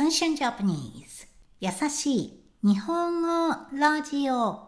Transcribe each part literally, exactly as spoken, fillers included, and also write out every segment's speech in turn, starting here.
Sunshine Japanese 優しい日本語ラジオ。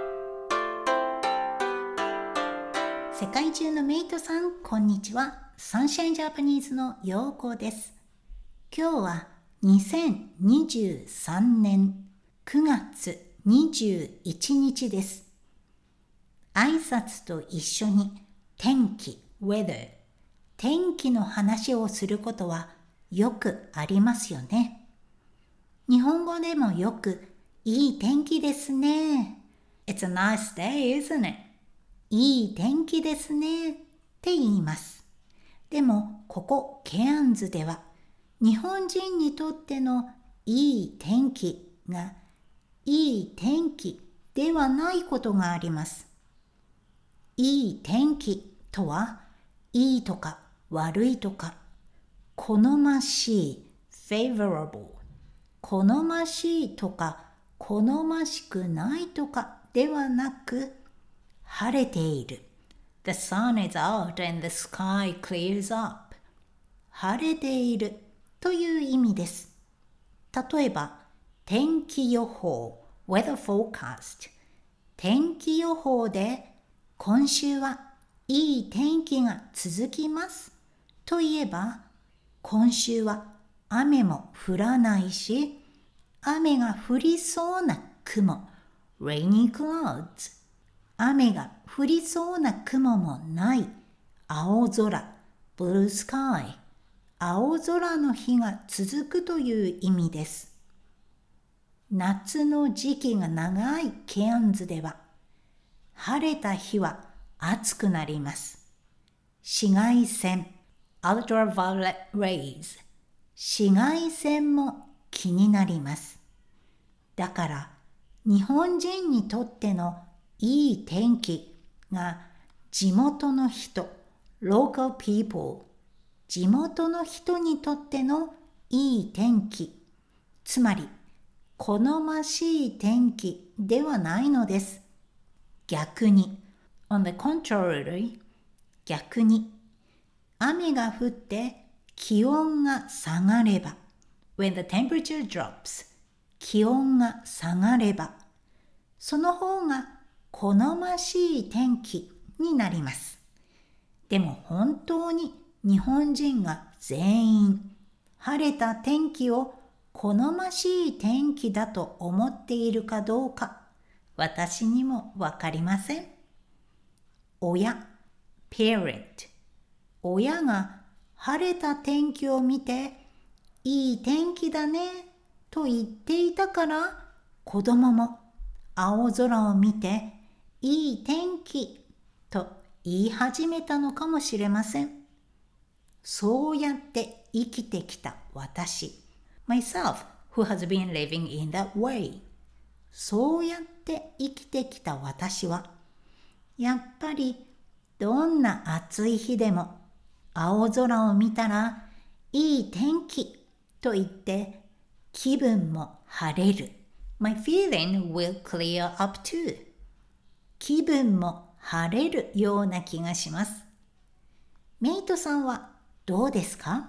世界中のメイトさん、こんにちは。Sunshine Japanese のようこです。今日はにせんにじゅうさんねんくがつにじゅういちにちです。挨拶と一緒に天気 weather 天気の話をすることはよくありますよね。日本語でもよくいい天気ですね。It's a nice day, isn't it? いい天気ですねって言います。でもここケアンズでは日本人にとってのいい天気がいい天気ではないことがあります。いい天気とはいいとか悪いとか好ましい favorable 好ましいとか好ましくないとかではなく晴れている The sun is out and the sky clears up 晴れているという意味です。例えば天気予報 weather forecast 天気予報で今週はいい天気が続きますといえば今週は雨も降らないし雨が降りそうな雲 rainy clouds 雨が降りそうな雲もない青空 blue sky 青空の日が続くという意味です。夏の時期が長いケアンズでは晴れた日は暑くなります。紫外線 ultraviolet rays 紫外線も気になります。だから日本人にとってのいい天気が地元の人 local people 地元の人にとってのいい天気つまり好ましい天気ではないのです。逆にOn the contrary 逆に雨が降って気温が下がれば When the temperature drops 気温が下がればその方が好ましい天気になります。でも本当に日本人が全員晴れた天気を好ましい天気だと思っているかどうか私にもわかりません。親 parent 親が晴れた天気を見ていい天気だねと言っていたから子供も青空を見ていい天気と言い始めたのかもしれません。そうやって生きてきた私 myself who has been living in that way そうやって生きてきた私はやっぱりどんな暑い日でも青空を見たらいい天気と言って気分も晴れる。My feeling will clear up too. 気分も晴れるような気がします。メイトさんはどうですか？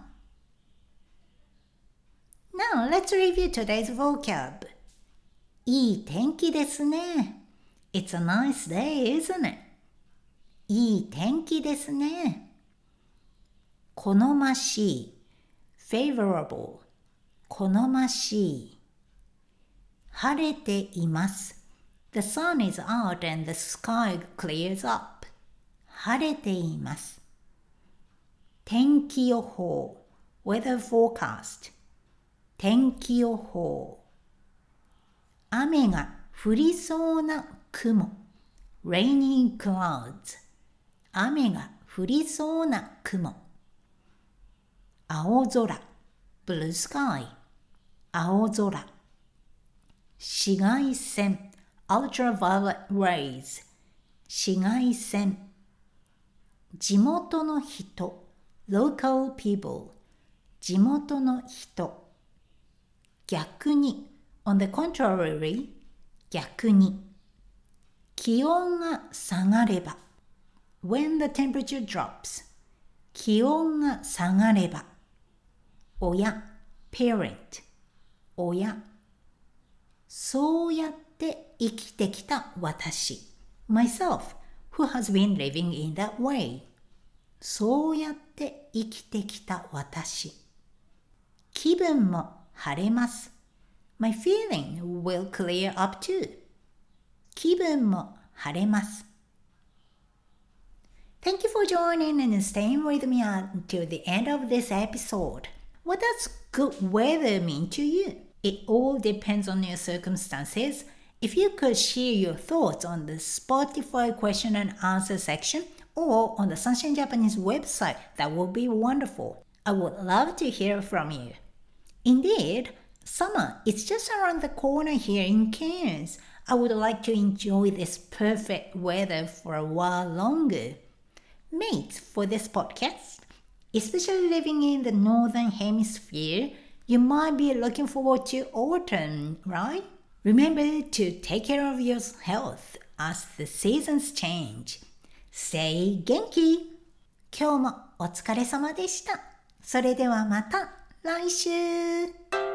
Now let's review today's vocab. いい天気ですね。It's a nice day, isn't it? いい天気ですね。好ましい favorable 好ましい晴れています The sun is out and the sky clears up 晴れています天気予報 weather forecast 天気予報雨が降りそうな雲 rainy clouds 雨が降りそうな雲青空 blue sky 青空紫外線 ultraviolet rays 紫外線地元の人 local people 地元の人逆に on the contrary 逆に気温が下がれば when the temperature drops 気温が下がれば親 parent おや、そうやって生きてきた私。myself, who has been living in that way. そうやって生きてきた私。気分も晴れます。My feeling will clear up too. 気分も晴れます。Thank you for joining and staying with me until the end of this episode. What does good weather mean to you? It all depends on your circumstances. If you could share your thoughts on the Spotify question and answer section or on the Sunshine Japanese website, that would be wonderful. I would love to hear from you. Indeed, summer is just around the corner here in Cairns. I would like to enjoy this perfect weather for a while longer. Mates, for this podcast, especially living in the Northern Hemisphere, you might be looking forward to autumn, right? Remember to take care of your health as the seasons change. Stay 元気! 今日もお疲れ様でした。それではまた来週